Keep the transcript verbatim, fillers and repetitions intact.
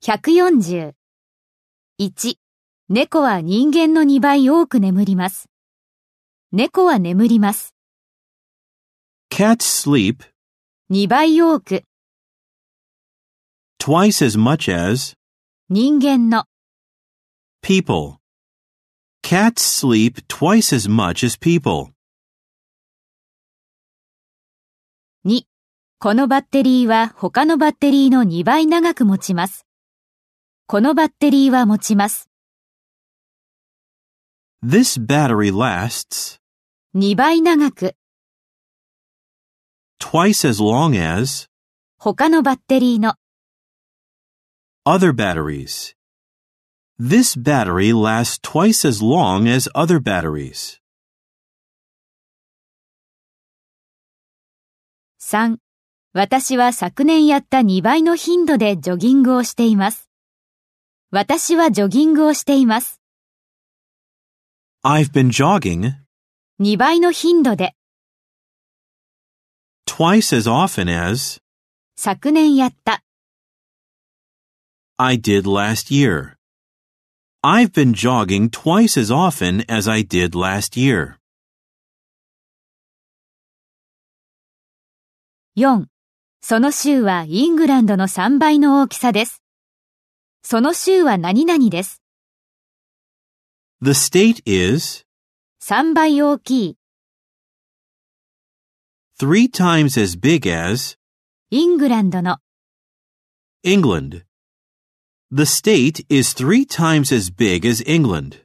ひゃくよんじゅう。いち、猫は人間のにばい多く眠ります。猫は眠ります。 Cats sleep にばい多く。 twice as much as 人間の。 people. Cats sleep twice as much as people. に、このバッテリーは他のバッテリーのにばい長く持ちます。このバッテリーは持ちます。 This battery lasts にばい長く。 twice as long as 他のバッテリーの。 other batteries. This battery lasts twice as long as other batteries. さん、私は昨年やったにばいの頻度でジョギングをしています。私はジョギングをしています。 I've been jogging にばいの頻度で。 twice as often as 昨年やった。 I did last year. I've been jogging twice as often as I did last year. よん、その州はイングランドのさんばいの大きさです。その州は何々です。 The state is さんばい大きい。 three times as big as イングランドの。 England. The state is three times as big as England.